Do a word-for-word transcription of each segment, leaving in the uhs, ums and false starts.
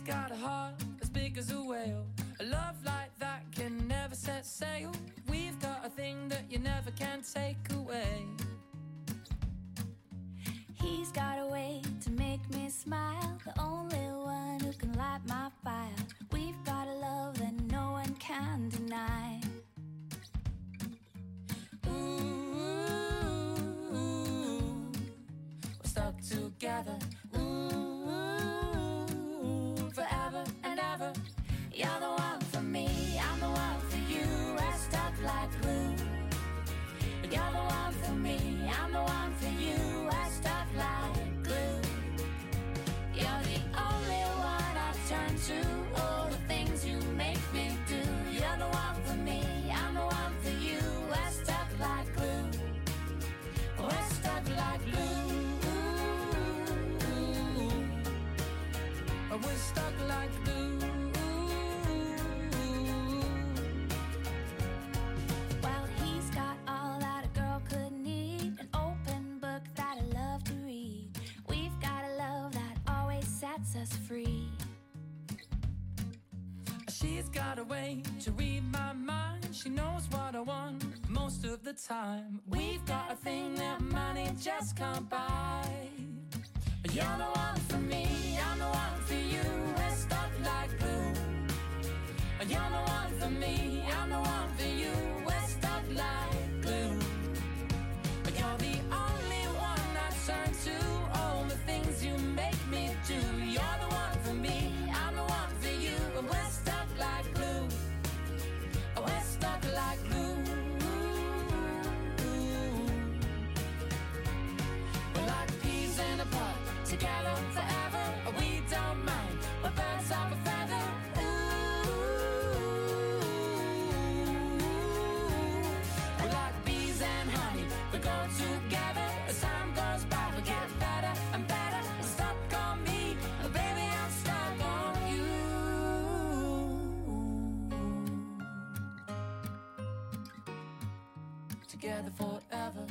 got a heart as big as a whale, a love like that can never set sail. We've got a thing that you never can take away. He's got a way to make me smile, the only one who can light my fire. We've got a love that no one can deny. Ooh, we're stuck together. Ooh, forever and ever. You're the one for me, I'm the one for you. We're stuck like glue. You're the one for me, I'm the one for you. We're stuck like glue. You're the only one I turn to. All the things you make me do. You're the one for me, I'm the one for you. We're stuck like glue. We're stuck like glue. We're stuck like glue. Well, he's got all that a girl could need, an open book that I love to read. We've got a love that always sets us free. She's got a way to read my mind. She knows what I want most of the time. We've got a thing that money just can't buy. You're the one for me, I'm the one for you. We're stuck like glue. You're the one for me, I'm the one for you. We're stuck like glue. You're the only one I turn to. All the things you make me do. You're the one for me, I'm the one for you. We're stuck like glue. We're stuck like glue. We're like peas in a pod, together forever. We don't mind, we're birds of a feather. We're like bees and honey, we go together. As time goes by, we get better and better. Stuck on me, baby, I'm stuck on you. Together forever.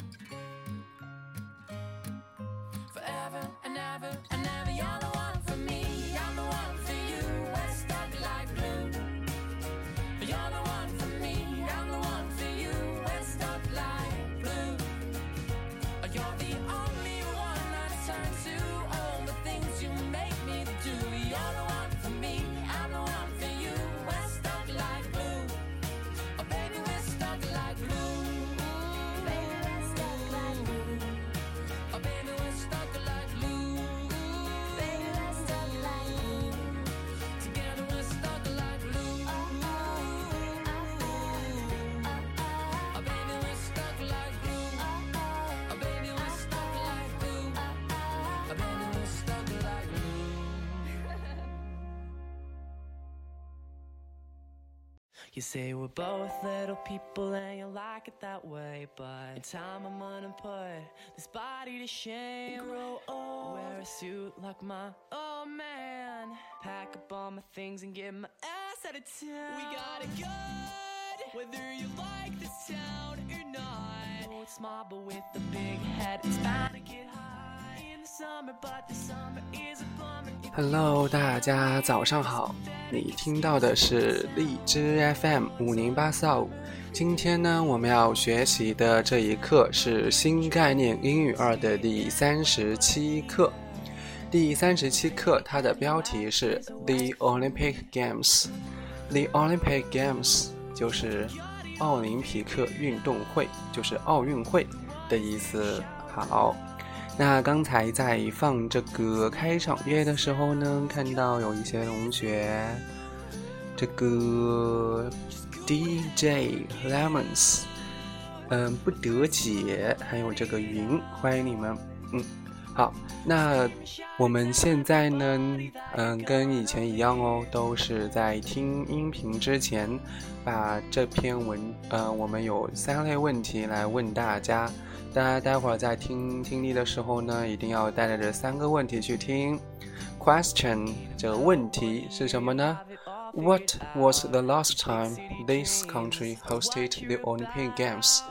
Forever and ever and ever. You're the one for me, I'm the one for you. We're stuck like glue. You're the one for me, I'm the one for you. We're stuck like glue. You're the only one I turn to. All the things you make me do. You're the one for me, I'm the one for you. We're stuck like glue. Oh baby, we're stuck like glue. Baby, we're stuck like glue. Oh baby, we're stuck like glue. Baby, we're stuck like glue. Together we're stuck like glue. Oh, oh, oh, oh, Oh baby, we're stuck like glue. oh, oh, Oh baby, we're stuck like glue. oh, oh. Oh baby, we're stuck like glue. You say we're both little people and you like it that way, but in time I'm gonna put this body to shame. Grow old, wear a suit like my old man, pack up all my things and get my ass out of town. We got it good, whether you like this town or not. Oh, it's small but with a big head, it's bound to get high in the summer, but the summer is a bummer. Hello， 大家早上好，你听到的是荔枝 F M 五零八四二五。今天呢，我们要学习的这一课是新概念英语二的第三十七课。第三十七课，它的标题是 The Olympic Games。The Olympic Games 就是奥林匹克运动会，就是奥运会的意思。好。那刚才在放这个开场乐的时候呢，看到有一些同学这个 D J Lemons 嗯，不得解，还有这个云，欢迎你们。嗯，好，那我们现在呢嗯，跟以前一样哦，都是在听音频之前把这篇文呃，我们有三类问题来问大家，大家待会儿在听听力的时候呢，一定要带着这三个问题去听。Question 这个问题是什么呢？ What was the last time this country hosted the Olympic Games？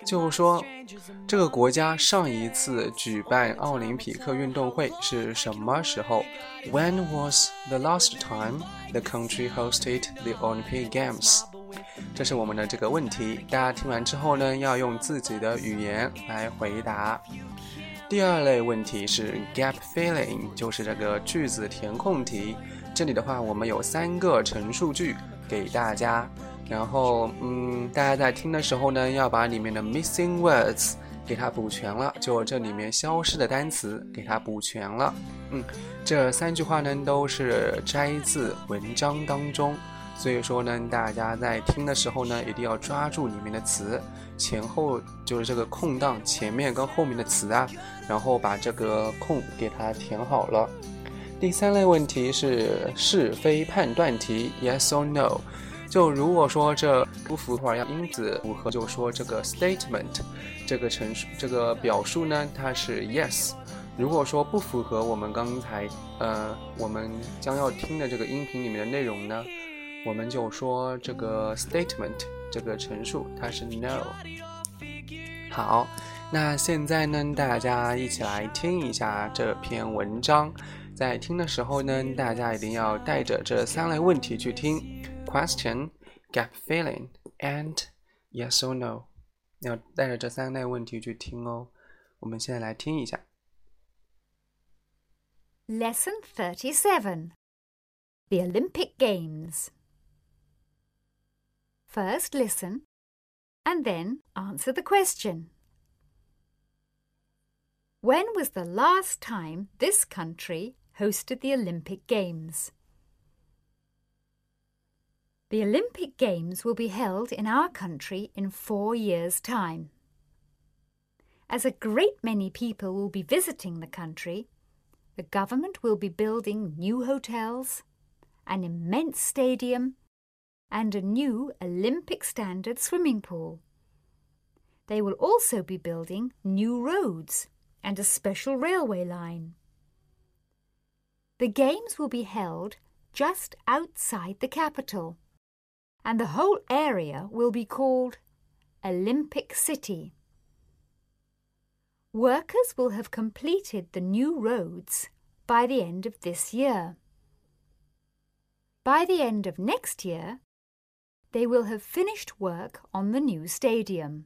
就是说这个国家上一次举办奥林匹克运动会是什么时候？ When was the last time the country hosted the Olympic Games？ 这是我们的这个问题，大家听完之后呢，要用自己的语言来回答。第二类问题是 gap filling， 就是这个句子填空题。这里的话，我们有三个陈述句给大家，然后嗯，大家在听的时候呢，要把里面的 missing words 给它补全了，就这里面消失的单词给它补全了。嗯，这三句话呢都是摘自文章当中，所以说呢，大家在听的时候呢，一定要抓住里面的词，前后就是这个空档前面跟后面的词啊，然后把这个空给它填好了。第三类问题是是非判断题 Yes or No， 就如果说这不符合要因子符合，就说这个 statement 这个陈述这个表述呢，它是 yes。 如果说不符合我们刚才呃我们将要听的这个音频里面的内容呢，我们就说这个 statement 这个陈述它是 no。 好，那现在呢，大家一起来听一下这篇文章。在听的时候呢，大家一定要带着这三类问题去听 question, gap filling and yes or no， 要带着这三类问题去听哦。我们现在来听一下。 Lesson thirty-seven, The Olympic Games. First listen and then answer the question. When was the last time this country hosted the Olympic Games? The Olympic Games will be held in our country in four years' time. As a great many people will be visiting the country, the government will be building new hotels, an immense stadium, and a new Olympic standard swimming pool. They will also be building new roads and a special railway line. The games will be held just outside the capital, and the whole area will be called Olympic City. Workers will have completed the new roads by the end of this year. By the end of next year, they will have finished work on the new stadium.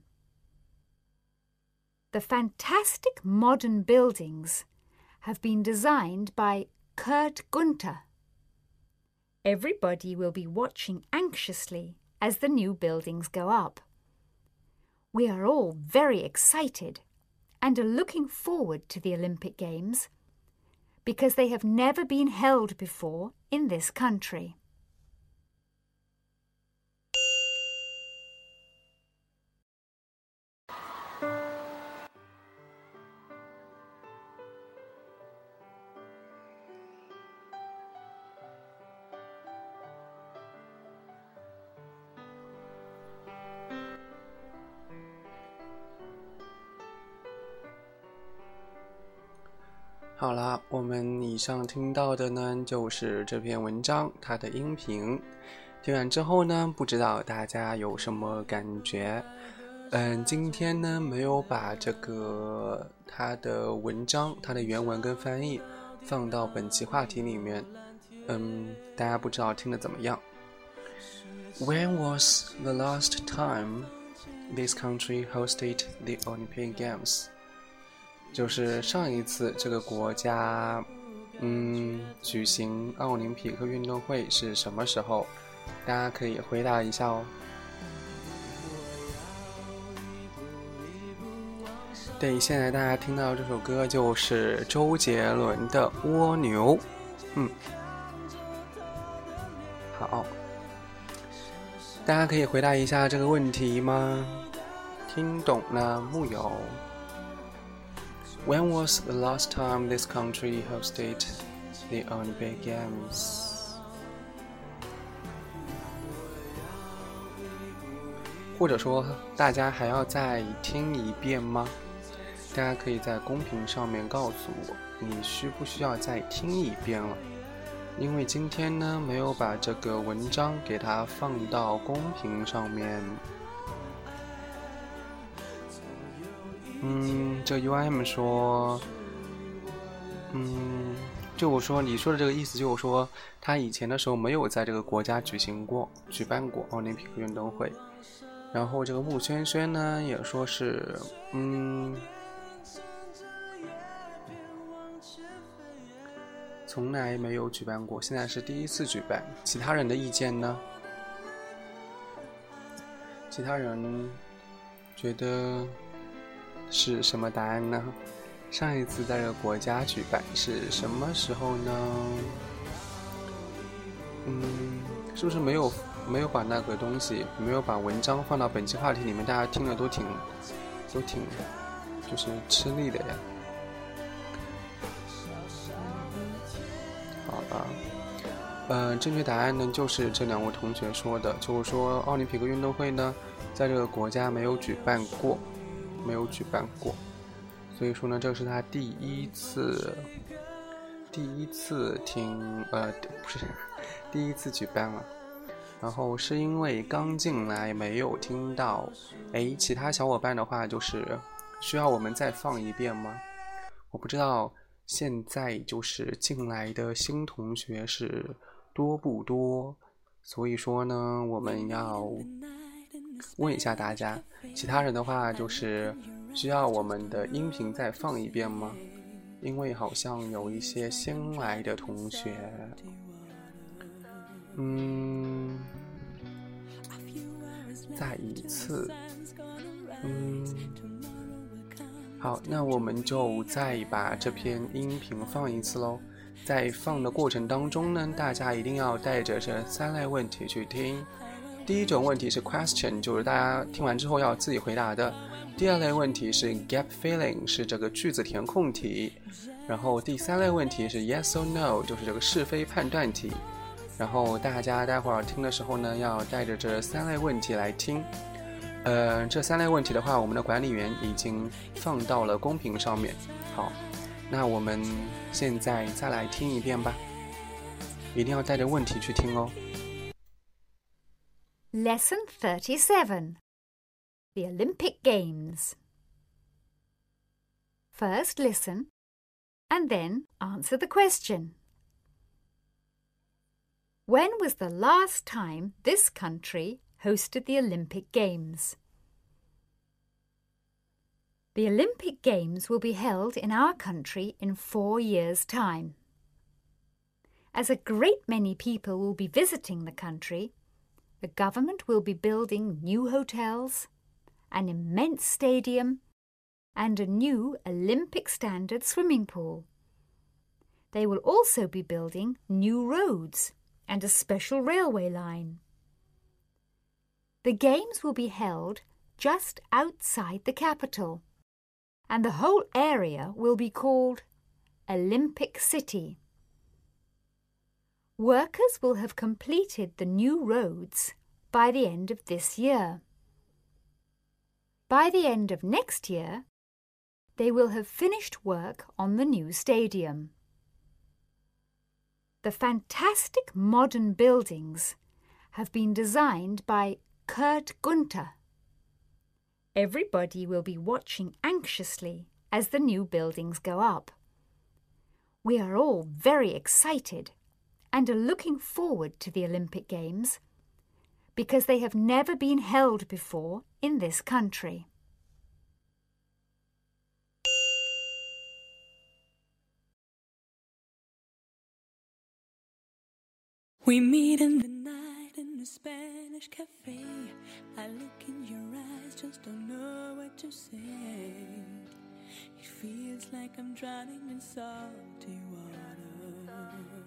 The fantastic modern buildings have been designed by Kurt Gunther. Everybody will be watching anxiously as the new buildings go up. We are all very excited and are looking forward to the Olympic Games because they have never been held before in this country. 好了，我们以上听到的呢，就是这篇文章它的音频。听完之后呢，不知道大家有什么感觉？嗯，今天呢没有把这个它的文章、它的原文跟翻译放到本期话题里面。嗯，大家不知道听得怎么样 ？When was the last time this country hosted the Olympic Games？就是上一次这个国家嗯举行奥林匹克运动会是什么时候？大家可以回答一下哦。对，现在大家听到这首歌就是周杰伦的《蜗牛》。嗯，好，大家可以回答一下这个问题吗？听懂了木有？When was the last time this country hosted the Olympic Games? 或者说大家还要再听一遍吗？大家可以在公屏上面告诉我，你需不需要再听一遍了？因为今天呢没有把这个文章给它放到公屏上面。 嗯，这 U I M 说，嗯，就我说你说的这个意思，就是说他以前的时候没有在这个国家举行过、举办过奥林匹克运动会。然后这个穆轩轩呢也说是，嗯，从来没有举办过，现在是第一次举办。其他人的意见呢？其他人觉得是什么答案呢？上一次在这个国家举办是什么时候呢？嗯，是不是没有没有把那个东西，没有把文章放到本期话题里面？大家听了都挺都挺就是吃力的呀。好吧，呃，正确答案呢就是这两位同学说的，就是说奥林匹克运动会呢，在这个国家没有举办过，没有举办过，所以说呢，这是他第一次，第一次听，呃，不是，第一次举办了。然后是因为刚进来没有听到，哎，其他小伙伴的话就是需要我们再放一遍吗？我不知道现在就是进来的新同学是多不多，所以说呢，我们要问一下大家，其他人的话就是需要我们的音频再放一遍吗？因为好像有一些新来的同学，嗯，再一次，嗯，好，那我们就再把这篇音频放一次咯。在放的过程当中呢，大家一定要带着这三类问题去听。第一种问题是 question， 就是大家听完之后要自己回答的。第二类问题是 gap filling， 是这个句子填空题。然后第三类问题是 yes or no， 就是这个是非判断题。然后大家待会儿听的时候呢，要带着这三类问题来听。呃，这三类问题的话，我们的管理员已经放到了公屏上面。好，那我们现在再来听一遍吧，一定要带着问题去听哦。 Lesson thirty-seven, the Olympic Games. First listen, and then answer the question. When was the last time this country hosted the Olympic Games? The Olympic Games will be held in our country in four years' time. As a great many people will be visiting the country, the government will be building new hotels, an immense stadium, and a new Olympic standard swimming pool. They will also be building new roads and a special railway line. The games will be held just outside the capital, and the whole area will be called Olympic City. Workers will have completed the new roads by the end of this year. By the end of next year, they will have finished work on the new stadium. The fantastic modern buildings have been designed by Kurt Gunther. Everybody will be watching anxiously as the new buildings go up. We are all very excited and are looking forward to the Olympic Games because they have never been held before in this country. We meet in the night in the Spanish cafe. I look in your eyes, just don't know what to say. It feels like I'm drowning in salty water.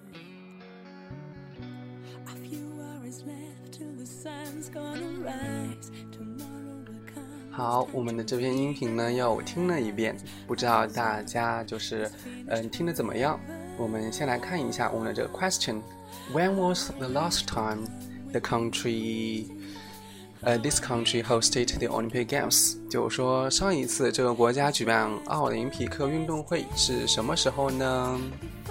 A few hours left till the sun's gonna rise. Tomorrow will come. 好，我们的这篇音频呢又听了一遍，不知道大家就是嗯听得怎么样？我们先来看一下我们的这个 question。When was the last time the country, uh, this country hosted the Olympic Games? 就是说上一次这个国家举办奥林匹克运动会是什么时候呢？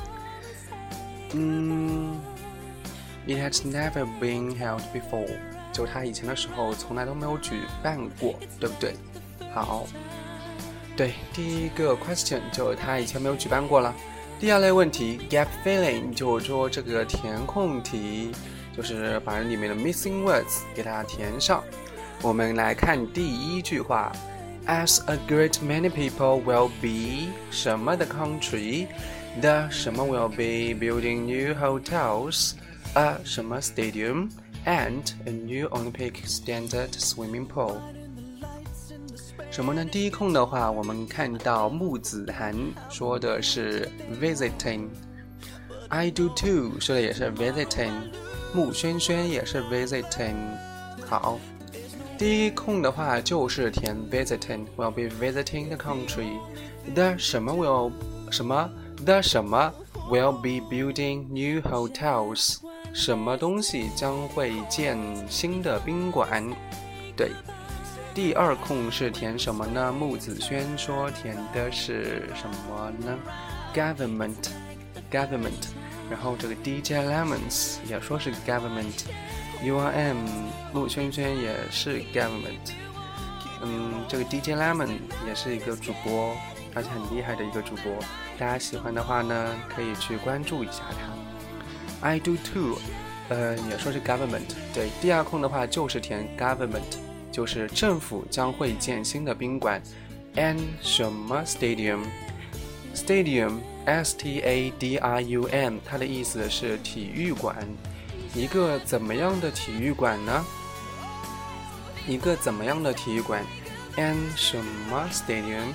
嗯 ，It has never been held before. 就它以前的时候从来都没有举办过，对不对？好， 对，第一个 question 就他以前没有举办过了。第二类问题 gap filling 就是说这个填空题，就是把里面的 missing words 给它填上。我们来看第一句话 As a great many people will be 什么的 country The 什么 will be building new hotels A 什么 stadium And a new Olympic standard swimming pool。什么呢？第一空的话，我们看到木子涵说的是 visiting， I do too 说的也是 visiting， 穆轩轩也是 visiting。 好，第一空的话就是填 visiting， will be visiting the country。 The 什么 will 什么 The 什么 will be building new hotels， 什么东西将会建新的宾馆。对，第二空是填什么呢？穆子轩说填的是什么呢？ Government Government。 然后这个 D J Lemons 也说是 Government， U R M 穆轩轩也是 Government。 嗯，这个 D J Lemon 也是一个主播，而且很厉害的一个主播，大家喜欢的话呢可以去关注一下他。 I do too 呃，也说是 Government。 对，第二空的话就是填 Government，就是政府将会建新的宾馆。 And 什么 stadium Stadium S T A D R U M 它的意思是体育馆。一个怎么样的体育馆呢？一个怎么样的体育馆 And 什么 stadium。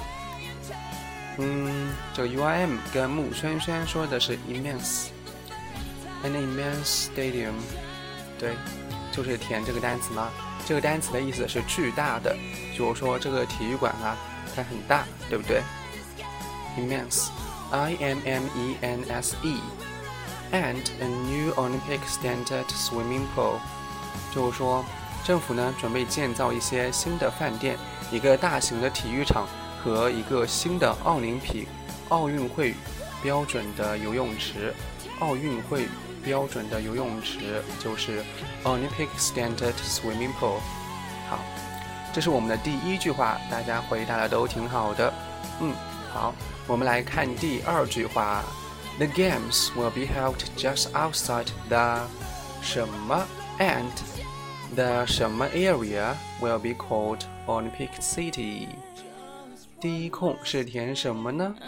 嗯，这个 U I M 跟穆轩轩说的是 immense An immense stadium。 对，就是填这个单词嘛。这个单词的意思是巨大的，就是说这个体育馆啊它很大，对不对？ Immense I M M E N S E And a new Olympic standard swimming pool， 就是说政府呢准备建造一些新的饭店，一个大型的体育场和一个新的奥林匹奥运会标准的游泳池。奥运会标准的游泳池就是 Olympic Standard Swimming Pool。 好，这是我们的第一句话，大家回答的都挺好的。嗯，好，我们来看第二句话 The games will be held just outside the 什么 and the 什么 area will be called Olympic City。 第一空是填什么呢？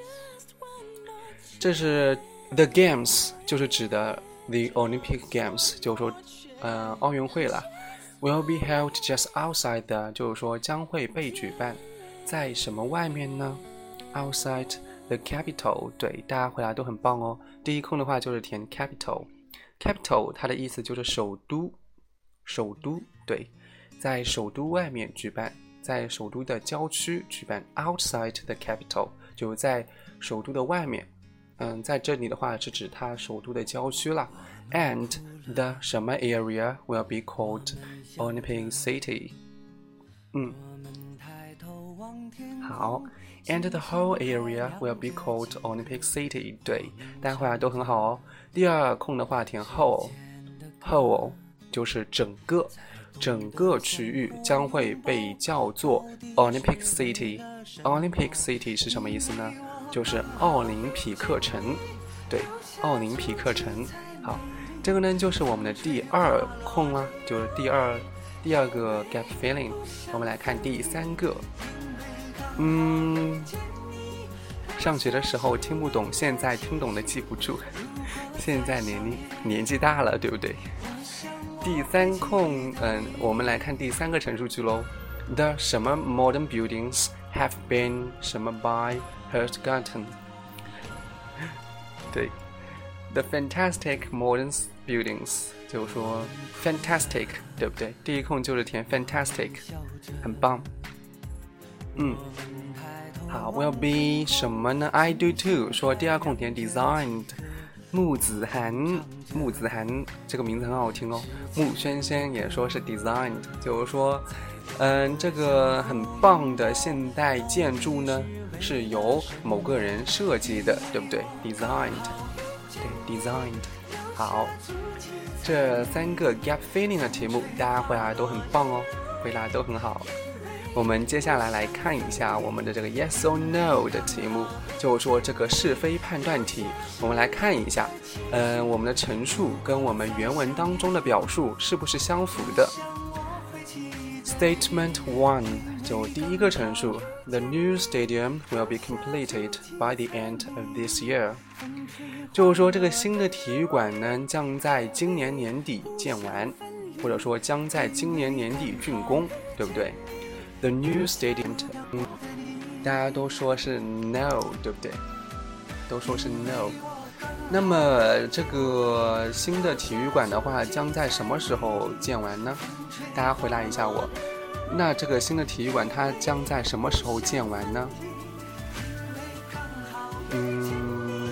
这是The games 就是指的 The Olympic Games， 就是说呃奥运会了。 Will be held just outside the 就是说将会被举办在什么外面呢？ Outside the capital。 对，大家回答都很棒哦。第一空的话就是填 capital。 Capital 它的意思就是首都，首都。对，在首都外面举办，在首都的郊区举办。 Outside the capital 就在首都的外面。嗯，在这里的话是指它首都的郊区啦。 And the 什么 area will be called Olympic City。 嗯，好， And the whole area will be called Olympic City。 对，大家回答都很好哦。第二空的话填 whole， whole 就是整个，整个区域将会被叫做 Olympic City。 Olympic City 是什么意思呢？就是奥林匹克城。对，奥林匹克城。好，这个呢就是我们的第二空啦，就是第二第二个 gap filling。 我们来看第三个。嗯，上学的时候听不懂，现在听懂的记不住，现在年龄年纪大了，对不对？第三空，嗯，我们来看第三个陈述句喽。 The 什么 modern buildings have been 什么 by forgotten。 对， The fantastic modern buildings 就是说 fantastic， 对不对？第一空就是填 fantastic， 很棒。嗯，好 will be 什么呢？ I do too 说第二空填 designed。 穆子涵，穆子涵这个名字很好听哦。穆轩轩也说是 designed， 就是说嗯，这个很棒的现代建筑呢是由某个人设计的，对不对？ designed， 对 designed。 好，这三个 gap filling 的题目大家回答都很棒哦，回答都很好。 我们接下来来看一下我们的这个 yes or no 的题目，就是说这个是非判断题。我们来看一下，呃，我们的陈述跟我们原文当中的表述是不是相符的。Statement one 就第一个陈述 The new stadium will be completed by the end of this year， 就是说这个新的体育馆呢将在今年年底建完，或者说将在今年年底竣工，对不对？ The new stadium 大家都说是 no， 对不对？都说是 no。 那么这个新的体育馆的话将在什么时候建完呢？大家回答一下我，那这个新的体育馆它将在什么时候建完呢？嗯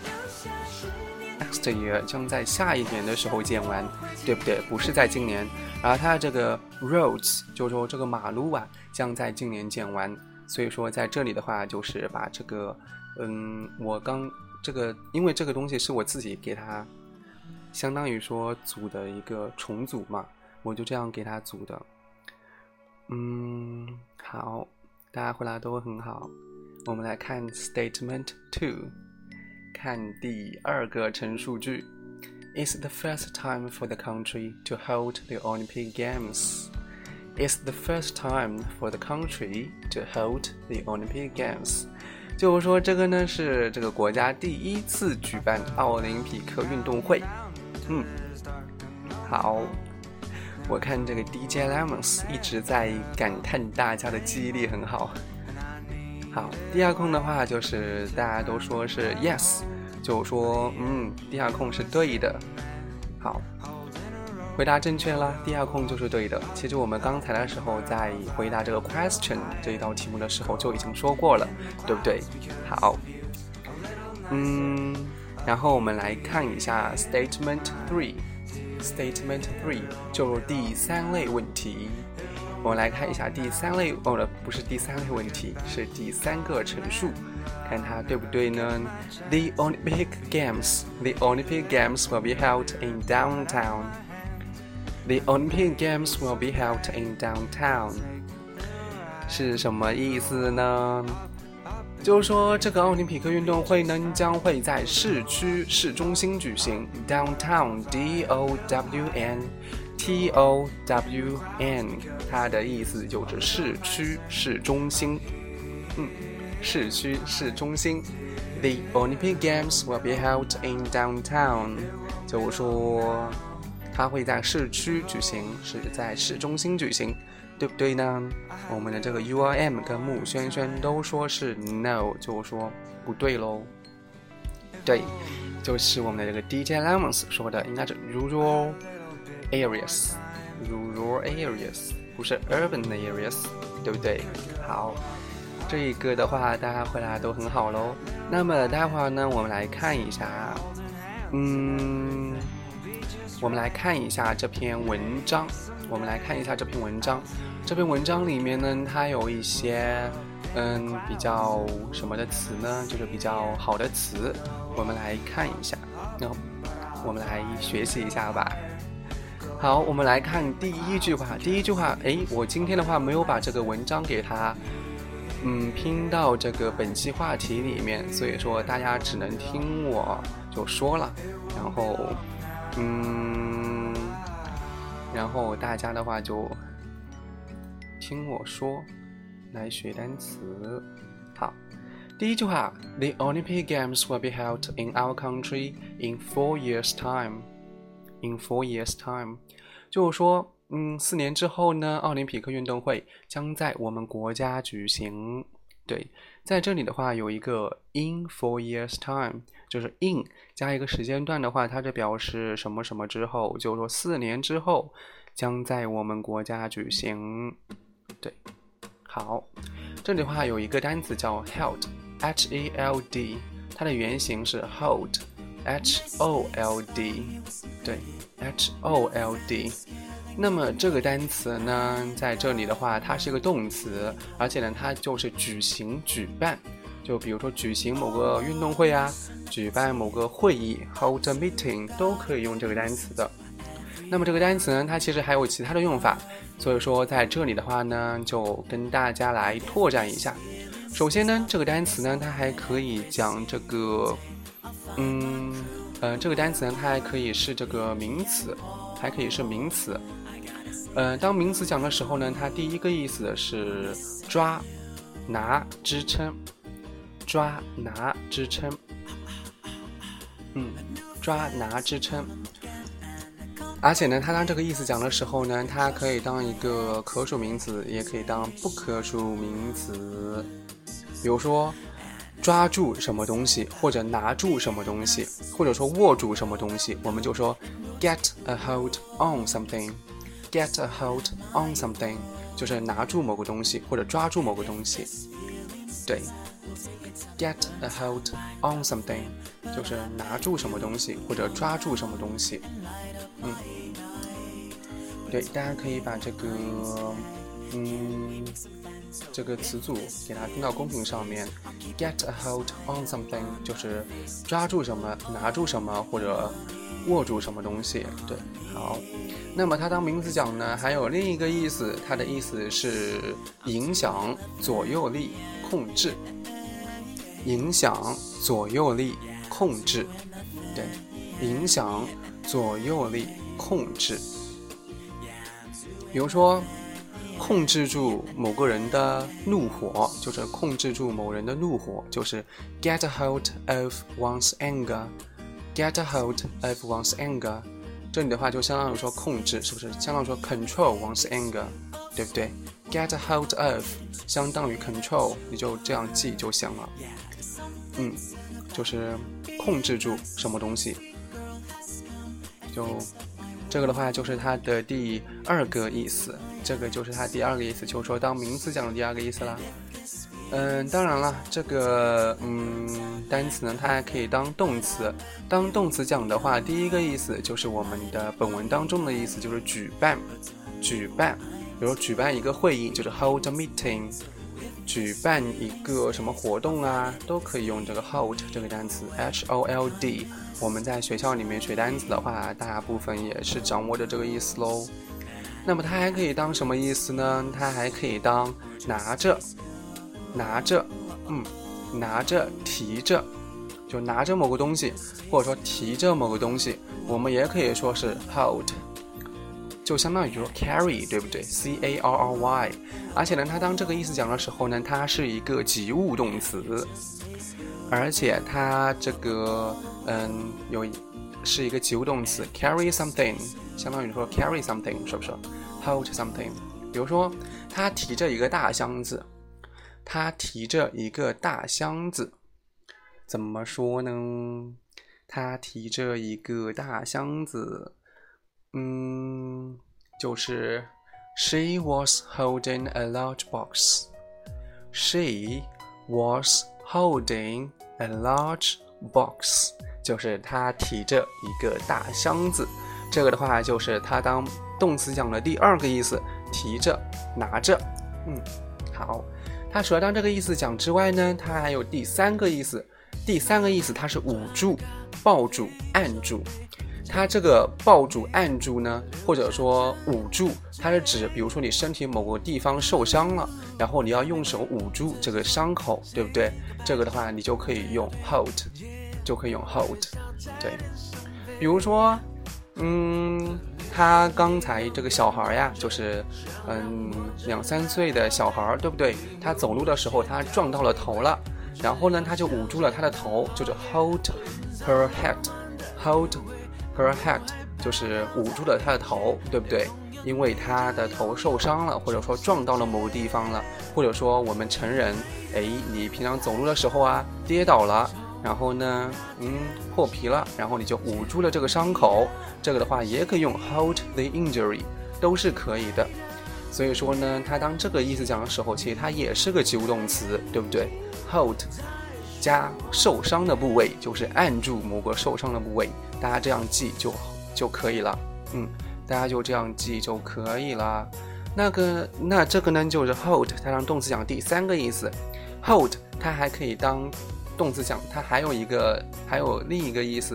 Next year 将在下一年的时候建完，对不对？不是在今年。然后它这个 roads 就是说这个马路啊将在今年建完，所以说在这里的话就是把这个嗯我刚这个因为这个东西是我自己给它相当于说组的一个重组嘛，我就这样给它组的。嗯，好，大家回答都很好。我们来看 Statement two， 看第二个陈述句。It's the first time for the country to hold the Olympic Games. It's the first time for the country to hold the Olympic Games. 就是说这个呢是这个国家第一次举办奥林匹克运动会。嗯，好，我看这个 D J Lemons 一直在感叹大家的记忆力很好。好，第二空的话就是大家都说是 yes， 就说嗯，第二空是对的。好，回答正确啦，第二空就是对的。其实我们刚才的时候在回答这个 question 这一道题目的时候就已经说过了，对不对？好，嗯，然后我们来看一下 Statement three。 Statement three 就是第三类问题。我们来看一下第三类，哦，不是第三类问题，是第三个陈述，看它对不对呢？ The Olympic Games The Olympic Games will be held in downtown. The Olympic Games will be held in downtown. 是什么意思呢？就是说这个奥林匹克运动会呢将会在市区市中心举行 Downtown D O W N T O W N 它的意思就是市区市中心。嗯，市区市中心 The Olympic Games will be held in downtown 就是说它会在市区举行，是在市中心举行，对不对呢？我们的这个 U R M 跟木轩轩都说是 no， 就是说不对咯。对，就是我们的这个 D J Lemons 说的，应该是 rural areas rural areas 不是 urban areas， 对不对？好，这一个的话大家回答都很好咯。那么待会儿呢我们来看一下嗯我们来看一下这篇文章我们来看一下这篇文章这篇文章里面呢它有一些嗯比较什么的词呢，就是比较好的词，我们来看一下，那我们来学习一下吧。好，我们来看第一句话。第一句话，诶，我今天的话没有把这个文章给它嗯拼到这个本期话题里面，所以说大家只能听我就说了，然后嗯然后大家的话就听我说来学单词。好，第一句话 The Olympic Games will be held in our country in four years time. In four years time 就是说嗯，四年之后呢奥林匹克运动会将在我们国家举行。对，在这里的话有一个 in four years time， 就是 in 加一个时间段的话，它就表示什么什么之后，就是说四年之后将在我们国家举行。对，好，这里的话有一个单词叫 held H E L D， 它的原型是 hold H O L D， 对 H O L D。 那么这个单词呢在这里的话它是一个动词，而且呢它就是举行举办，就比如说举行某个运动会啊，举办某个会议 hold a meeting 都可以用这个单词的。 那么这个单词呢，它其实还有其他的用法，所以说在这里的话呢，就跟大家来拓展一下。首先呢，这个单词呢，它还可以讲这个，嗯，呃，这个单词呢，它还可以是这个名词，还可以是名词。呃，当名词讲的时候呢，它第一个意思是抓、拿、支撑，抓、拿、支撑，嗯，抓、拿、支撑。而且呢，它当这个意思讲的时候呢，它可以当一个可数名词，也可以当不可数名词。比如说，抓住什么东西，或者拿住什么东西，或者说握住什么东西，我们就说 get a hold on something。get a hold on something 就是拿住某个东西，或者抓住某个东西。对 ，get a hold on something 就是拿住什么东西，或者抓住什么东西。嗯，对，大家可以把这个，嗯，这个词组给它钉到公屏上面。Get a hold on something 就是抓住什么、拿住什么或者握住什么东西。对，好。那么它当名词讲呢，还有另一个意思，它的意思是影响、左右力、控制。影响、左右力、控制。对，影响、左右力、控制。比如说，控制住某个人的怒火，就是控制住某人的怒火，就是 get a hold of one's anger。get a hold of one's anger。这里的话就相当于说控制，是不是相当于说 control one's anger， 对不对？ get a hold of 相当于 control， 你就这样记就行了。嗯，就是控制住什么东西。就这个的话就是它的第二个意思，这个就是它第二个意思，就是说当名词讲的第二个意思啦。嗯，当然了，这个嗯单词呢，它还可以当动词。当动词讲的话，第一个意思就是我们的本文当中的意思，就是举办，举办。比如举办一个会议，就是 hold a meeting。举办一个什么活动啊，都可以用这个 hold 这个单词 H O L D。我们在学校里面学单词的话，大部分也是掌握着这个意思喽。那么它还可以当什么意思呢？它还可以当拿着。拿着，嗯，拿着，提着，就拿着某个东西，或者说提着某个东西，我们也可以说是 hold， 就相当于说 carry， 对不对 ？C A R R Y。而且呢，它当这个意思讲的时候呢，它是一个及物动词，而且它这个嗯有是一个及物动词 carry something， 相当于说 carry something， 是不是 ？hold something。比如说，他提着一个大箱子。他提着一个大箱子，怎么说呢？他提着一个大箱子，嗯，就是 She was holding a large box. She was holding a large box， 就是他提着一个大箱子。这个的话，就是他当动词讲的第二个意思，提着、拿着。嗯，好。它除了当这个意思讲之外呢，它还有第三个意思。第三个意思它是捂住、抱住、按住。它这个抱住、按住呢，或者说捂住，它是指比如说你身体某个地方受伤了，然后你要用手捂住这个伤口，对不对？这个的话你就可以用 hold， 就可以用 hold。对，比如说，嗯。他刚才这个小孩呀，就是嗯两三岁的小孩，对不对？他走路的时候他撞到了头了，然后呢他就捂住了他的头，就是 hold her head，hold her head 就是捂住了他的头，对不对？因为他的头受伤了，或者说撞到了某个地方了，或者说我们成人，哎，你平常走路的时候啊跌倒了。然后呢，嗯，破皮了，然后你就捂住了这个伤口，这个的话也可以用 hold the injury， 都是可以的。所以说呢，它当这个意思讲的时候，其实它也是个及物动词，对不对 ？hold 加受伤的部位，就是按住某个受伤的部位，大家这样记就就可以了。嗯，大家就这样记就可以了。那个，那这个呢，就是 hold， 它当动词讲第三个意思 ，hold 它还可以当动词讲，它还有一个还有另一个意思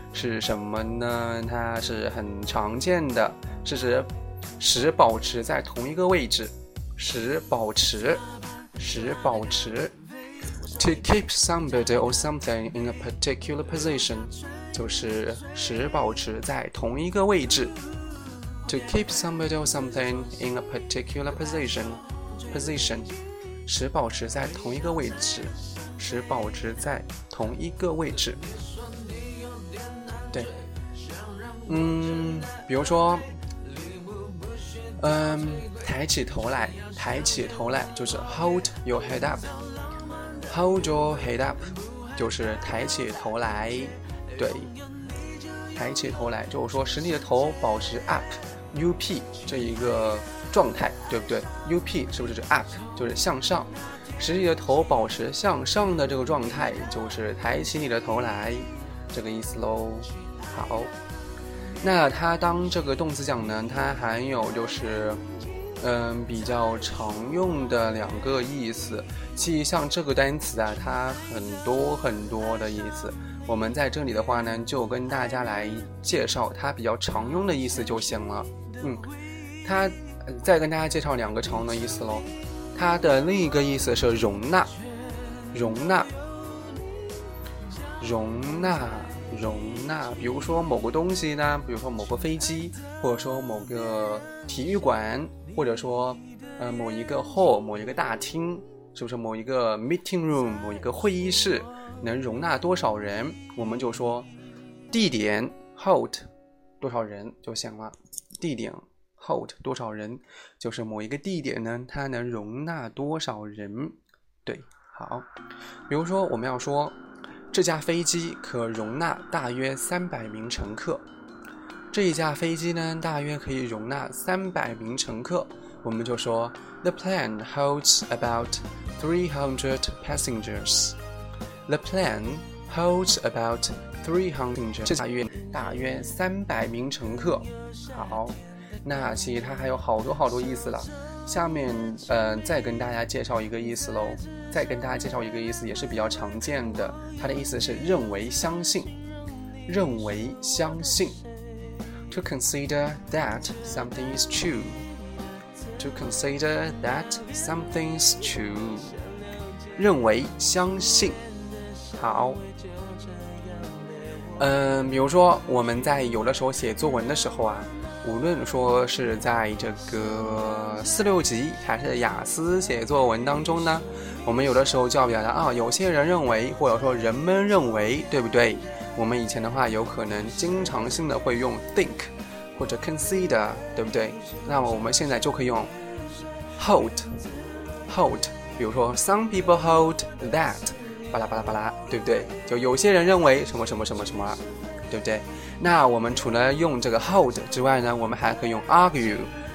是什么呢？它是很常见的，是指使保持在同一个位置，使保持，使保持。To keep somebody or something in a particular position， 就是使保持在同一个位置。To keep somebody or something in a particular position， position， 使保持在同一个位置，使保持在同一个位置。对，嗯，比如说，嗯，抬起头来，抬起头来就是 hold your head up。Hold your head up， 就是抬起头来，对，抬起头来就是说使你的头保持 up，U P 这一个状态，对不对 ？U P 是不是指 up， 就是向上，使你的头保持向上的这个状态，就是抬起你的头来，这个意思喽。好，那它当这个动词讲呢，它还有就是。嗯，比较常用的两个意思，其实像这个单词啊，它很多很多的意思。我们在这里的话呢，就跟大家来介绍它比较常用的意思就行了。嗯，它再跟大家介绍两个常用的意思咯。它的另一个意思是容纳，容纳，容纳。容纳，比如说某个东西呢，比如说某个飞机，或者说某个体育馆，或者说呃某一个 hall， 某一个大厅，是不是某一个 meeting room， 某一个会议室能容纳多少人，我们就说地点 hold 多少人就行了。地点 hold 多少人，就是某一个地点呢，它能容纳多少人。对，好，比如说我们要说。这架飞机可容纳大约三百名乘客。这一架飞机呢，大约可以容纳三百名乘客。我们就说 The plane holds about three hundred passengers. The plane holds about three hundred passengers. 大约大约三百名乘客。好，那其实它还有好多好多意思了。下面呃再跟大家介绍一个意思喽。再跟大家介绍一个意思，也是比较常见的。它的意思是认为、相信，认为、相信。To consider that something is true. To consider that something is true. 认为、相信。好。嗯，比如说我们在有的时候写作文的时候啊。无论说是在这个四六级还是雅思写作文当中呢，我们有的时候就要表达啊，有些人认为，或者说人们认为，对不对？我们以前的话有可能经常性的会用 think 或者 consider， 对不对？那么我们现在就可以用 hold hold， 比如说 some people hold that， 巴拉巴拉巴拉，对不对？就有些人认为什么什么什么什么，对不对？那我们除了用这个 hold 之外呢，我们还可以用 argue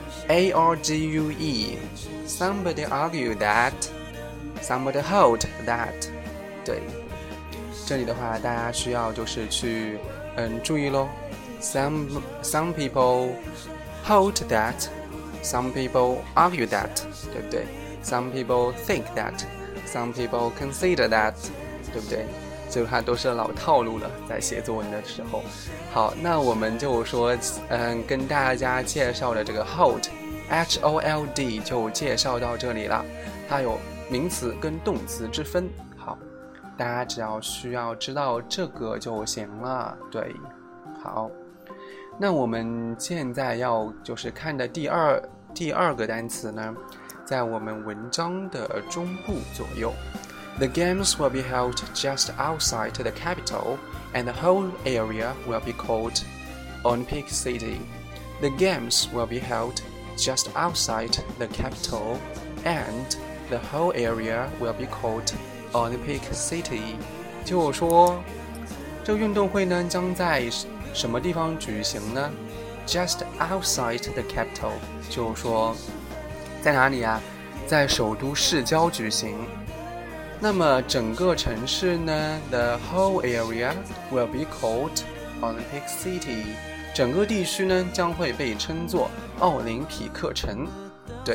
A R G U E Somebody argue that Somebody hold that 对，这里的话大家需要就是去嗯注意咯 Some, some people hold that Some people argue that 对不对 Some people think that Some people consider that 对不对？这个它都是老套路了，在写作文的时候。好，那我们就说，嗯，跟大家介绍的这个 hold H O L D 就介绍到这里了。它有名词跟动词之分。好，大家只要需要知道这个就行了。对，好，那我们现在要就是看的第二第二个单词呢，在我们文章的中部左右。The games will be held just outside the capital, and the whole area will be called Olympic City. The games will be held just outside the capital, and the whole area will be called Olympic City. 就是说，这个运动会呢将在什么地方举行呢 ？Just outside the capital， 就是说，在哪里啊？在首都市郊举行。那么整个城市呢 The whole area will be called Olympic City 整个地区呢将会被称作奥林匹克城。对，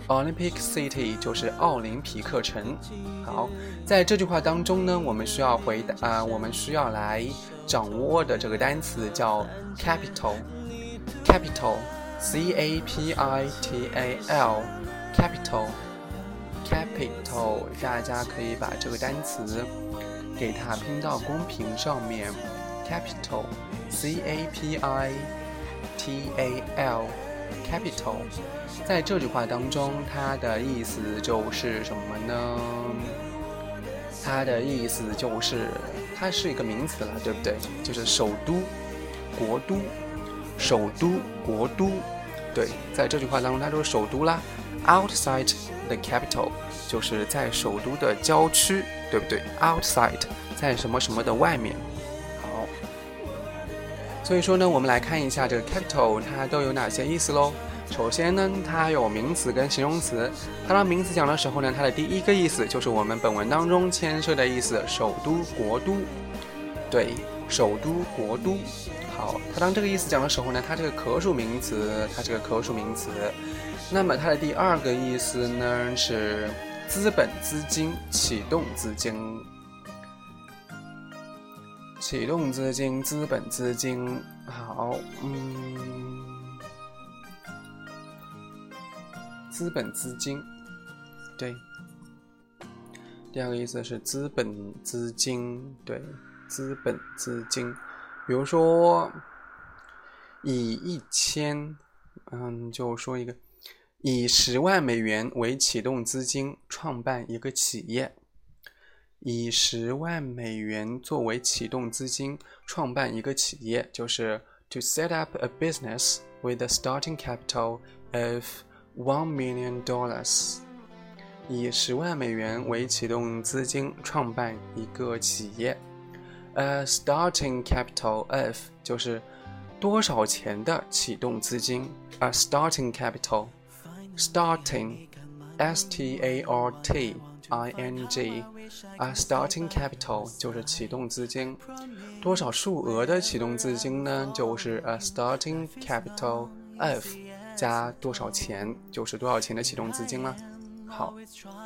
Olympic City 就是奥林匹克城。好，在这句话当中呢，我们需要回答啊、呃，我们需要来掌握的这个单词叫 capital。capital C A P I T A L capital capital 大家可以把这个单词给它拼到公屏上面 capital C A P I T A L capital 在这句话当中它的意思就是什么呢？它的意思就是它是一个名词了，对不对？就是首都国都首都国都，对，在这句话当中它就是首都啦。 outside the capital 就是在首都的郊区，对不对？ outside 在什么什么的外面。好，所以说呢，我们来看一下这个 capital 它都有哪些意思咯。首先呢，它有名词跟形容词。它当名词讲的时候呢，它的第一个意思就是我们本文当中牵涉的意思，首都国都，对，首都国都。好，它当这个意思讲的时候呢，它这个可数名词，它这个可数名词。那么它的第二个意思呢是资本资金，启动资金，启动资金，资本资金。好，嗯，资本资金，对。第二个意思是资本资金，对，资本资金。比如说以一千嗯就说一个以十万美元为启动资金创办一个企业，以十万美元作为启动资金创办一个企业，就是 to set up a business with a starting capital of one million dollars， 以十万美元为启动资金创办一个企业。A starting capital of 就是多少钱的启动资金。 A starting capital starting S T A R T I N G A starting capital 就是启动资金。多少数额的启动资金呢？就是 A starting capital of 加多少钱，就是多少钱的启动资金了。好，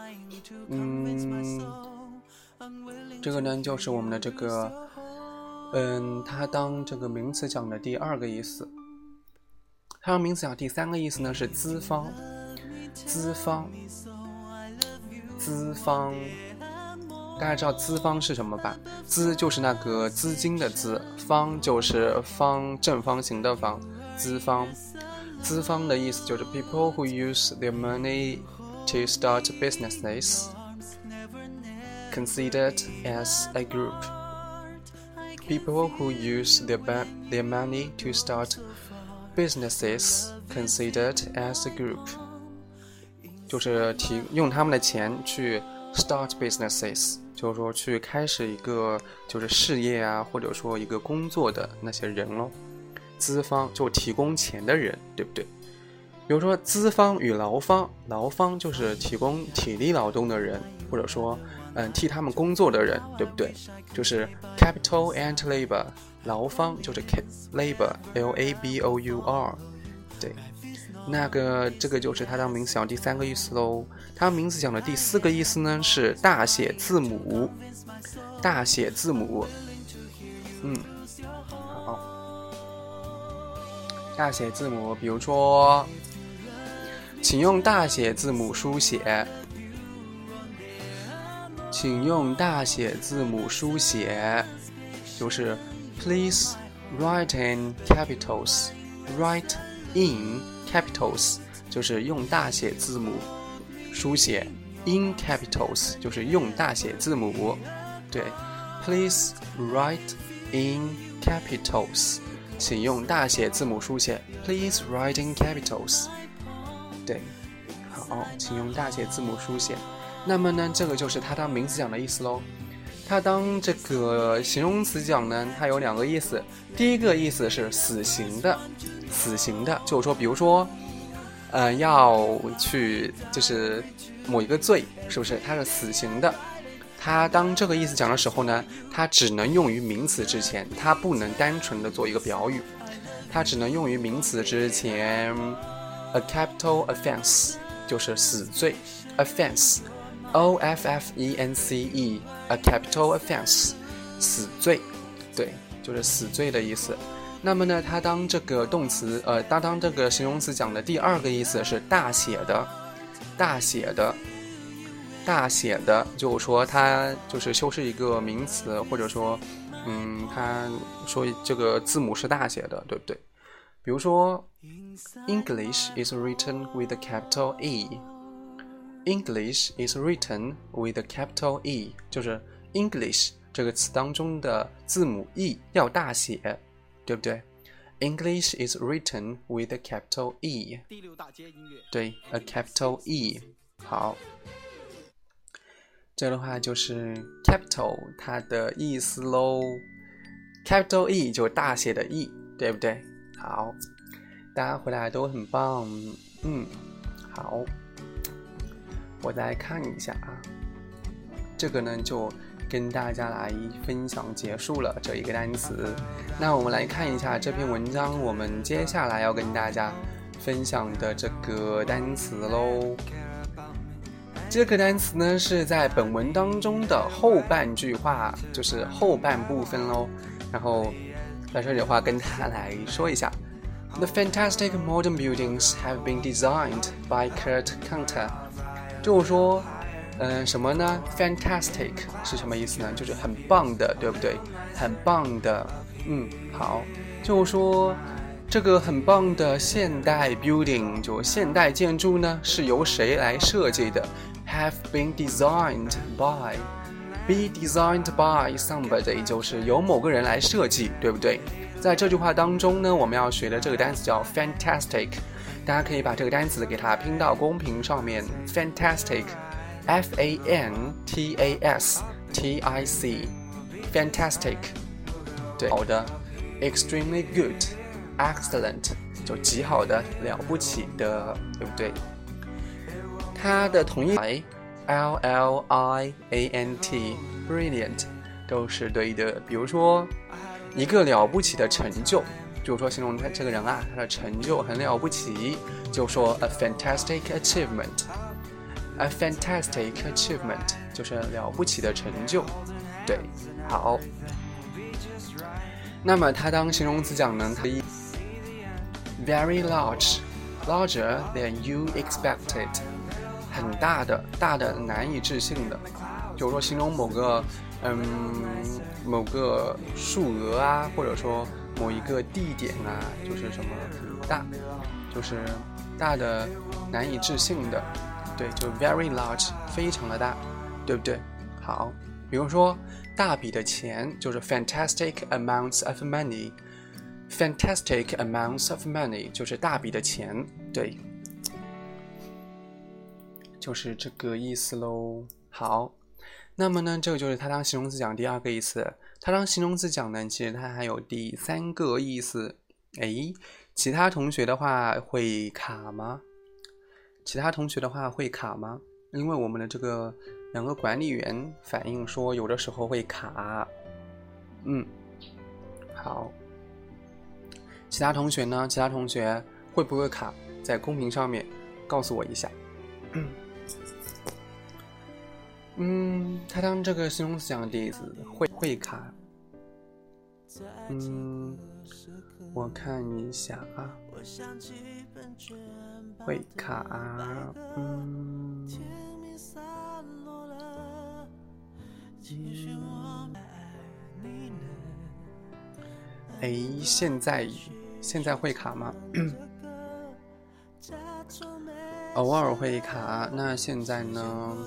嗯这个呢就是我们的这个嗯，它当这个名词讲的第二个意思。它当名词讲第三个意思呢是资方，资方资方大家知道资方是什么吧？资就是那个资金的资，方就是方正方形的方，资方。资方的意思就是 people who use their money to start businesses considered as a group. People who use their, their money to start businesses considered as a group. 就是提用他们的钱去 start businesses， 就是说去开始一个就是事业啊，或者说一个工作的那些人咯。资方就提供钱的人，对不对？比如说资方与劳方，劳方就是提供体力劳动的人，或者说嗯替他们工作的人，对不对？就是 capital and labor， 劳方就是 labor L A B O U R， 对。那个这个就是它当名词讲第三个意思咯。它名词讲的第四个意思呢是大写字母，大写字母，嗯，好，大写字母，比如说，请用大写字母书写，请用大写字母书写，就是 Please write in capitals, write in capitals 就是用大写字母书写 in capitals 就是用大写字母，对 Please write in capitals 请用大写字母书写 Please write in capitals 对，好，请用大写字母书写。那么呢，这个就是它当名词讲的意思咯。它当这个形容词讲呢，它有两个意思。第一个意思是死刑的，死刑的，就是说，比如说，呃，要去就是某一个罪，是不是？它是死刑的。它当这个意思讲的时候呢，它只能用于名词之前，它不能单纯的做一个表语，它只能用于名词之前。A capital offense 就是死罪 offense O F F E N C E a capital offense 死罪，对，就是死罪的意思。那么呢，它当这个动词呃它当这个形容词讲的第二个意思是大写的大写的大写的，就是说它就是修饰一个名词，或者说嗯它说这个字母是大写的，对不对？比如说 English is written with a capital E English is written with a capital E 就是 English 这个词当中的字母 E 要大写，对不对？ English is written with a capital E 第六大街音乐， 对 a capital E 好，这的话就是 capital 它的意思咯， capital E 就是大写的 E 对不对？好，大家回来都很棒，嗯，好，我再看一下啊，这个呢就跟大家来分享结束了这一个单词。那我们来看一下这篇文章，我们接下来要跟大家分享的这个单词咯。这个单词呢是在本文当中的后半句话，就是后半部分咯。然后在这里的话跟大家来说一下 The fantastic modern buildings have been designed by Kurt Kanter 就是说嗯、呃，什么呢 Fantastic 是什么意思呢？就是很棒的，对不对？很棒的，嗯，好，就是说这个很棒的现代 building 就现代建筑呢是由谁来设计的？ Have been designed by Be designed by somebody 就是由某个人来设计，对不对？在这句话当中呢，我们要学的这个单词叫 fantastic， 大家可以把这个单词给它拼到公屏上面 fantastic F A N T A S T I C fantastic 对，好的 extremely good excellent 就极好的了不起的，对不对？它的同义 L L I A N T brilliant 都是对的。比如说一个了不起的成就，就是说形容他这个人啊，他的成就很了不起，就说 a fantastic achievement A fantastic achievement 就是了不起的成就，对，好。那么它当形容词讲呢，它 very large larger than you expected 很大的大的难以置信的，就是说形容某个嗯某个数额啊，或者说某一个地点啊，就是什么很大，就是大的难以置信的，对，就 very large 非常的大，对不对？好，比如说大笔的钱就是 fantastic amounts of money fantastic amounts of money 就是大笔的钱，对，就是这个意思咯。好，那么呢这个就是它当形容词讲第二个意思，它当形容词讲呢其实它还有第三个意思。诶，其他同学的话会卡吗？其他同学的话会卡吗？因为我们的这个两个管理员反映说有的时候会卡。嗯，好，其他同学呢？其他同学会不会卡？在公屏上面告诉我一下。嗯，他当这个形容词讲的第一次会会卡。嗯，我看一下啊，会卡啊，嗯，哎，现在现在会卡吗？偶尔会卡，那现在呢？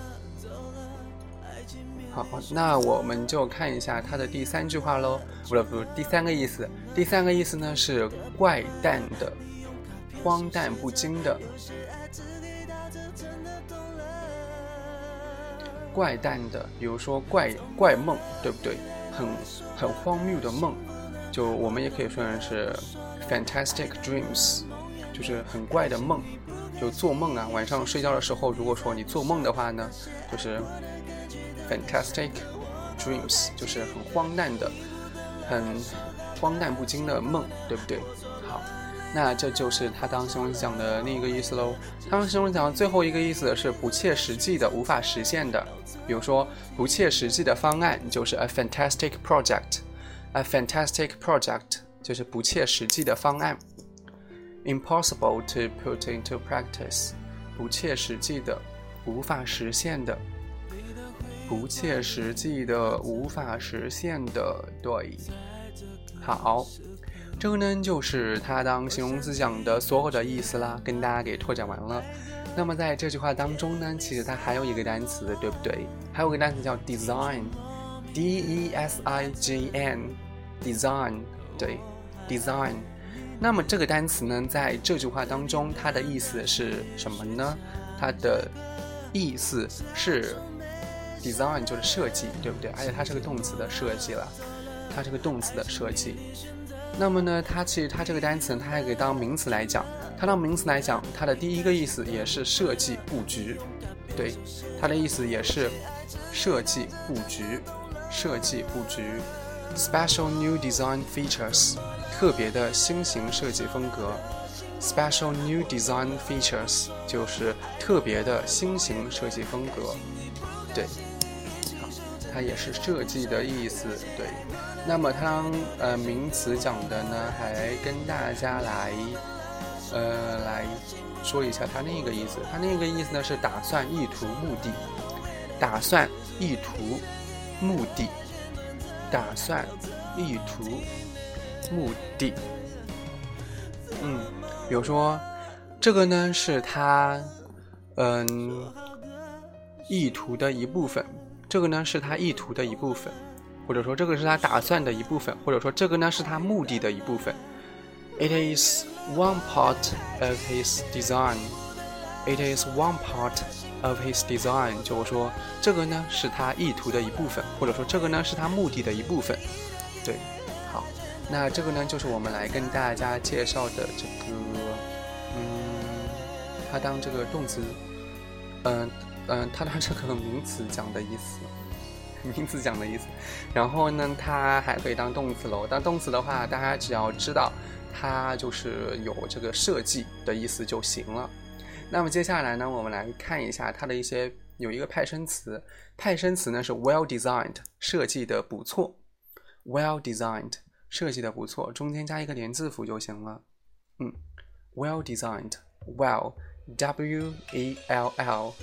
好，那我们就看一下它的第三句话咯，不是不是第三个意思。第三个意思呢是怪诞的、荒诞不经的、怪诞的，比如说怪怪梦，对不对？很很荒谬的梦，就我们也可以说成是 fantastic dreams， 就是很怪的梦，就做梦啊，晚上睡觉的时候，如果说你做梦的话呢，就是fantastic dreams 就是很荒诞的很荒诞不经的梦，对不对？好， 那这就是它当形容词讲的另一个意思喽。当形容词讲的最后一个意思是不切实际的，无法实现的。比如说不切实际的方案就是 a fantastic project， a fantastic project 就是不切实际的方案。 impossible to put into practice， 不切实际的，无法实现的，不切实际的，无法实现的，对。好，这个呢就是它当形容词讲的所有的意思啦，跟大家给拓展完了。那么在这句话当中呢，其实它还有一个单词，对不对？还有一个单词叫 design， D E S I G N， design， 对 design。那么这个单词呢，在这句话当中，它的意思是什么呢？它的意思是 design 就是设计，对不对？而且它是个动词的设计了，它是个动词的设计。那么呢，它其实它这个单词它还可以当名词来讲，它当名词来讲，它的第一个意思也是设计布局，对，它的意思也是设计布局，设计布局 ，special new design features， 特别的新型设计风格 ，special new design features 就是特别的新型设计风格，对，好，它也是设计的意思，对。那么它当呃名词讲的呢，还跟大家来呃来说一下它另一个意思。它另一个意思呢是打算、意图、目的。打算、意图、目的。打算、意图、目的。嗯，比如说这个呢是它嗯意图的一部分，这个呢是它意图的一部分。或者说这个是他打算的一部分，或者说这个呢是他目的的一部分。It is one part of his design. It is one part of his design. 就是说这个呢是他意图的一部分，或者说这个呢是他目的的一部分。对，好，那这个呢就是我们来跟大家介绍的这个，嗯，它当这个动词，嗯、呃、嗯、呃，它当这个名词讲的意思。名词讲的意思，然后呢，它还可以当动词喽。当动词的话，大家只要知道它就是有这个设计的意思就行了。那么接下来呢，我们来看一下它的一些有一个派生词，派生词呢是 well designed， 设计的不错 ，well designed， 设计的不错，中间加一个连字符就行了。嗯 ，well designed，well W E L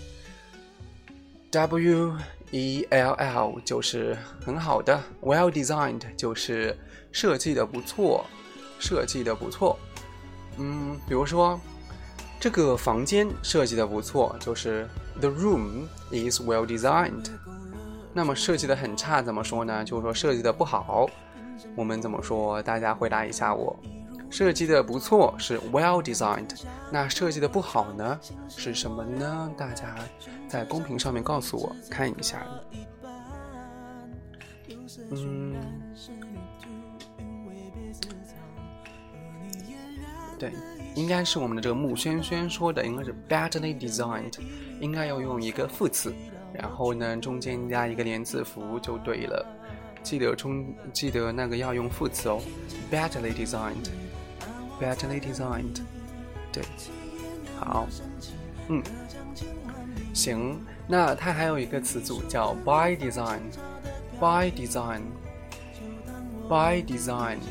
L。W E L L 就是很好的 well designed 就是设计的不错，设计的不错。嗯，比如说这个房间设计的不错，就是 the room is well designed。那么设计的很差怎么说呢？就是说设计的不好，我们怎么说？大家回答一下我。设计的不错是 well designed， 那设计的不好呢是什么呢？大家在公屏上面告诉我看一下。嗯，对，应该是我们的这个穆轩轩说的，应该是 badly designed， 应该要用一个副词，然后呢中间加一个连字符就对了。记得中记得那个要用副词哦 ，badly designed。badly designed， 对，好，嗯，行，那它还有一个词组叫 by design，by design，by design，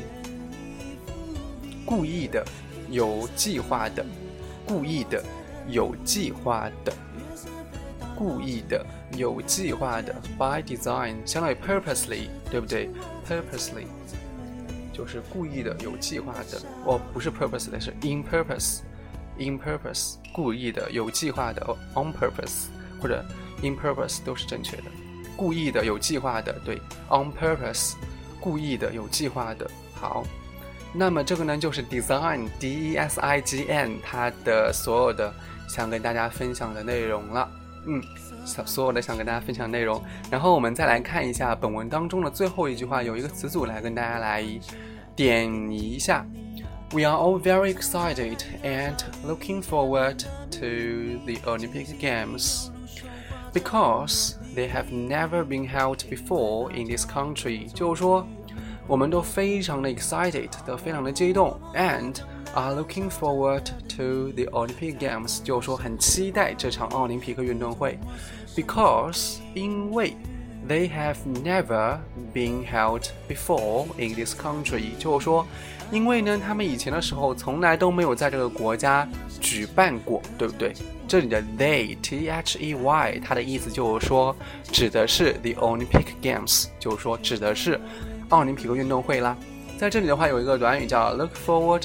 故意的，有计划的，故意的，有计划的，故意的，有计划的 by design 相当于 purposely， 对不对 ？purposely。就是故意的，有计划的，哦，不是 purpose 的，是 in purpose， in purpose， 故意的，有计划的 on purpose 或者 in purpose 都是正确的，故意的，有计划的，对 on purpose， 故意的，有计划的。好，那么这个呢就是 design D E S I G N 它的所有的想跟大家分享的内容了，嗯。所有的想跟大家分享的内容，然后我们再来看一下本文当中的最后一句话，有一个词组来跟大家来点一下。We are all very excited and looking forward to the Olympic Games because they have never been held before in this country。就是说，我们都非常的 excited， 都非常的激动 ，and are looking forward to the Olympic Games， 就是说很期待这场奥林匹克运动会 ，because 因为 they have never been held before in this country， 就是说因为呢他们以前的时候从来都没有在这个国家举办过，对不对？这里的 they T H E Y 它的意思就是说指的是 the Olympic Games， 就是说指的是奥林匹克运动会啦。在这里的话有一个短语叫 look forward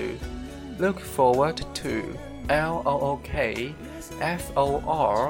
to， look forward to L O O K F O R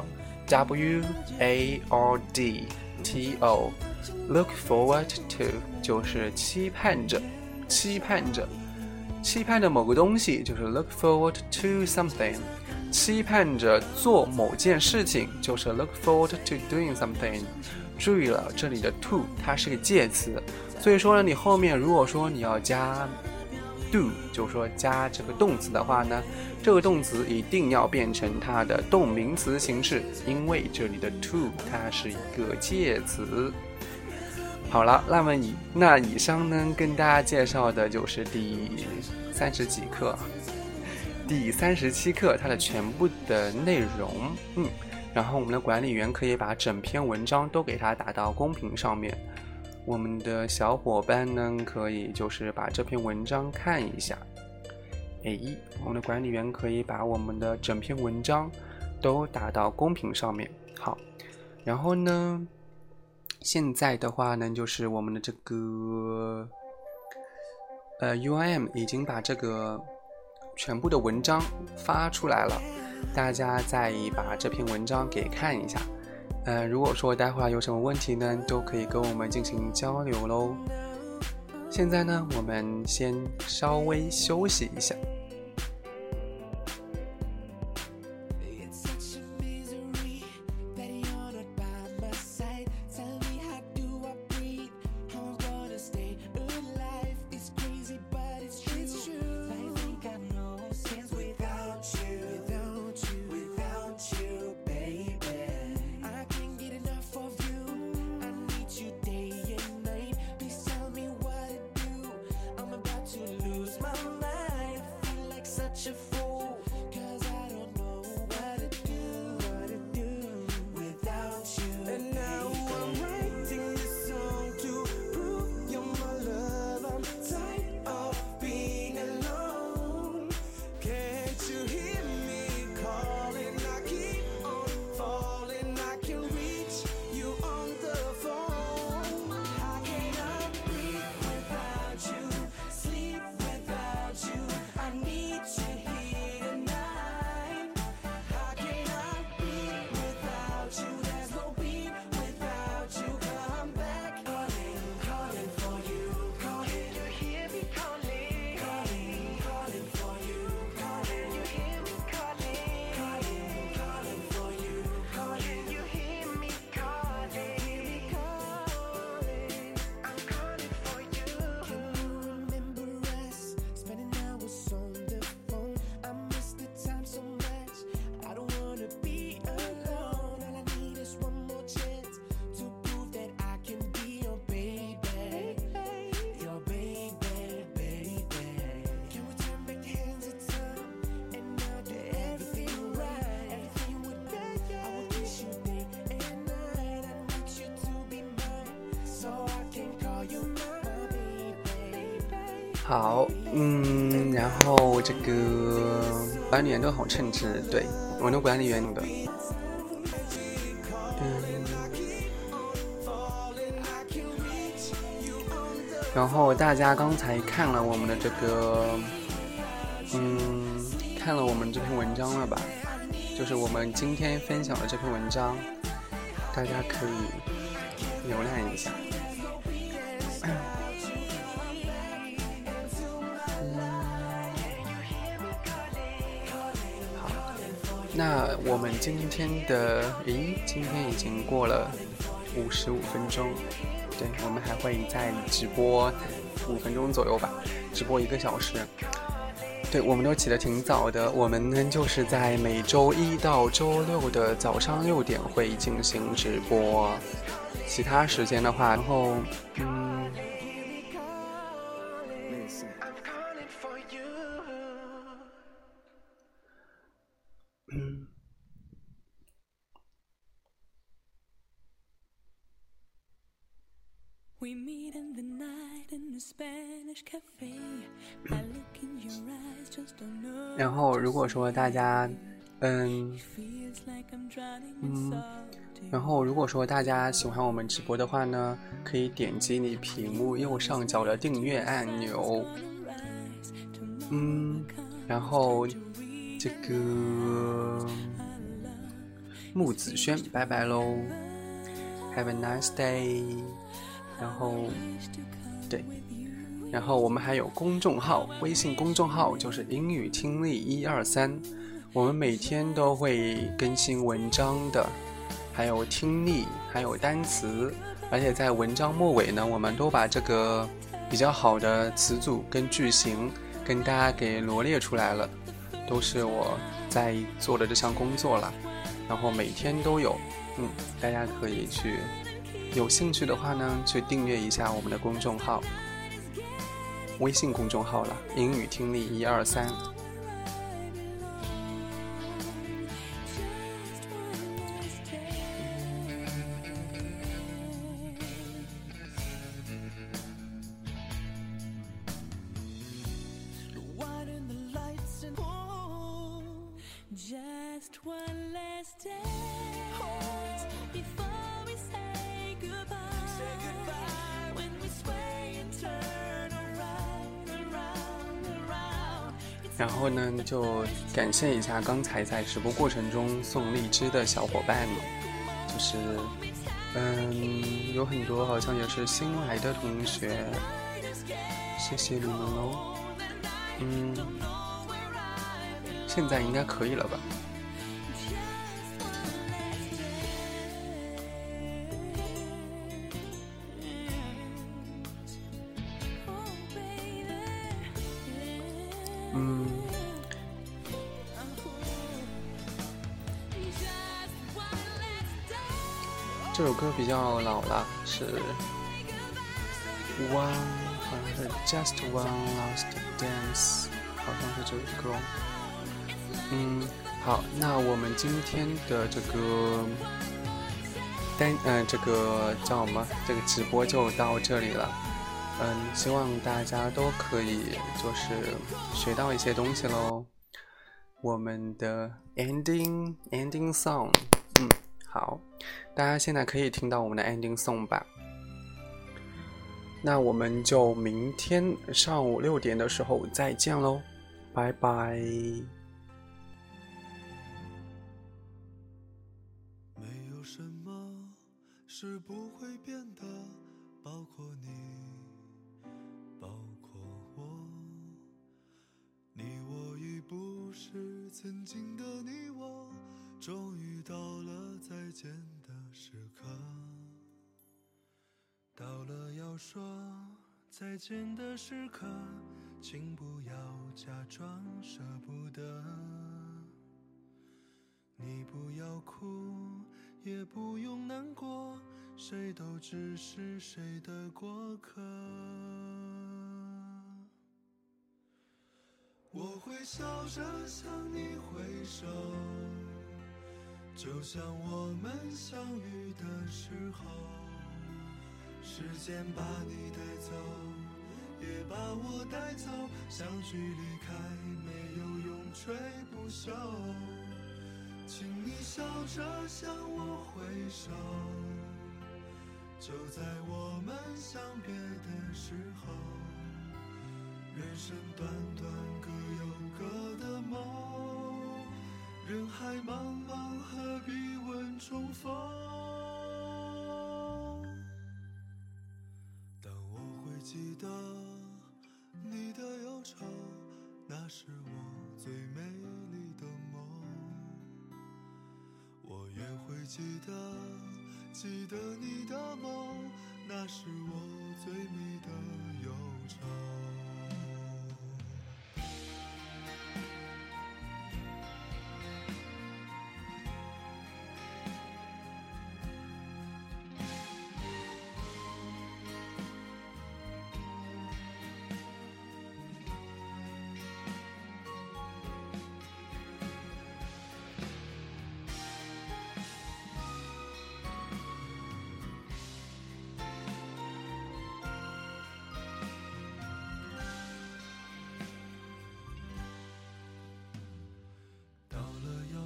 W A R D T O look forward to 就是期盼着期盼着期盼着某个东西，就是 look forward to something， 期盼着做某件事情，就是 look forward to doing something。 注意了，这里的 to 它是个介词，所以说呢你后面如果说你要加 do， 就是说加这个动词的话呢，这个动词一定要变成它的动名词形式，因为这里的 to 它是一个介词。好了，那么以那以上呢跟大家介绍的就是第三十几课第三十七课它的全部的内容。嗯，然后我们的管理员可以把整篇文章都给它打到公屏上面，我们的小伙伴呢可以就是把这篇文章看一下。哎，我们的管理员可以把我们的整篇文章都打到公屏上面。好，然后呢现在的话呢就是我们的这个呃 U I M 已经把这个全部的文章发出来了，大家再把这篇文章给看一下。呃，如果说待会儿有什么问题呢，都可以跟我们进行交流咯。现在呢，我们先稍微休息一下。好，嗯，然后这个管理员都好称职，对，我的管理员的，嗯，然后大家刚才看了我们的这个，嗯，看了我们这篇文章了吧？就是我们今天分享的这篇文章，大家可以浏览一下。那我们今天的，咦，今天已经过了五十五分钟，对，我们还会再直播五分钟左右吧，直播一个小时。对，我们都起得挺早的，我们呢就是在每周一到周六的早上六点会进行直播，其他时间的话，然后嗯。 We meet in the night in a Spanish cafe. I look in your eyes, just don't know. 然后如果说大家嗯嗯然后如果说大家喜欢我们直播的话呢，可以点击你屏幕右上角的订阅按钮。嗯然后这个木子轩拜拜喽 Have a nice day。 然后对然后我们还有公众号，微信公众号就是英语听力一二三，我们每天都会更新文章的，还有听力，还有单词，而且在文章末尾呢，我们都把这个比较好的词组跟句型跟大家给罗列出来了，都是我在做的这项工作了，然后每天都有，嗯，大家可以去，有兴趣的话呢，去订阅一下我们的公众号，微信公众号了，英语听力一二三。然后呢，就感谢一下刚才在直播过程中送荔枝的小伙伴，就是嗯，有很多好像也是新来的同学，谢谢你们喽。嗯，现在应该可以了吧？嗯，这首歌比较老了，是 One， 好像是 Just One Last Dance， 好像是这个歌。嗯，好，那我们今天的这个单，呃，这个叫什么？这个直播就到这里了。嗯，希望大家都可以就是学到一些东西咯。我们的 ending ending song， 嗯，好，大家现在可以听到我们的 ending song 吧。那我们就明天上午六点的时候再见咯，拜拜。 没有什么是不会变的，包括你，包括我。你我已不是曾经的你我，终于到了再见的时刻，到了要说再见的时刻，请不要假装舍不得。你不要哭，也不用难过，谁都只是谁的过客。我会笑着向你挥手，就像我们相遇的时候，时间把你带走，也把我带走，相聚离开没有永垂不朽。请你笑着向我挥手，就在我们相别的时候，人生短短各有各的梦，人海茫茫何必问重逢。但我会记得你的忧愁，那是我最美丽的梦。我也会记得记得你的梦，那是我最美的忧愁。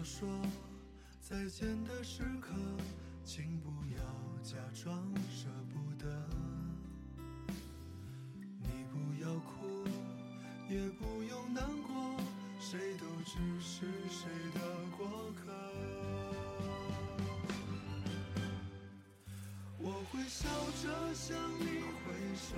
说再见的时刻，请不要假装舍不得。你不要哭，也不用难过，谁都只是谁的过客。我会笑着向你挥手，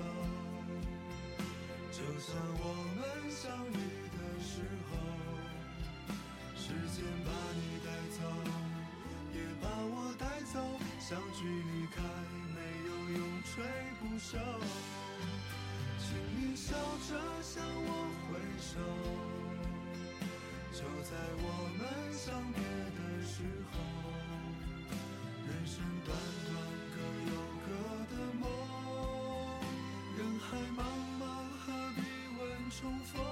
就算我们相遇的时候，时间把你带走，也把我带走，相聚离开没有永垂不朽。请你笑着向我挥手，就在我们相别的时候，人生短短各有各的梦，人海茫茫何必问重逢。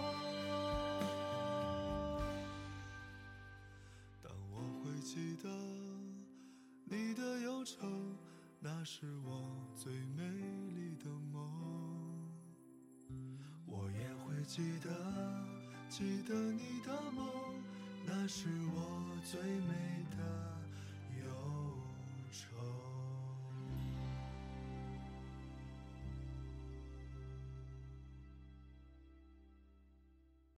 当我会记得你的忧愁，那是我最美丽的梦。我也会记得记得你的梦，那是我最美的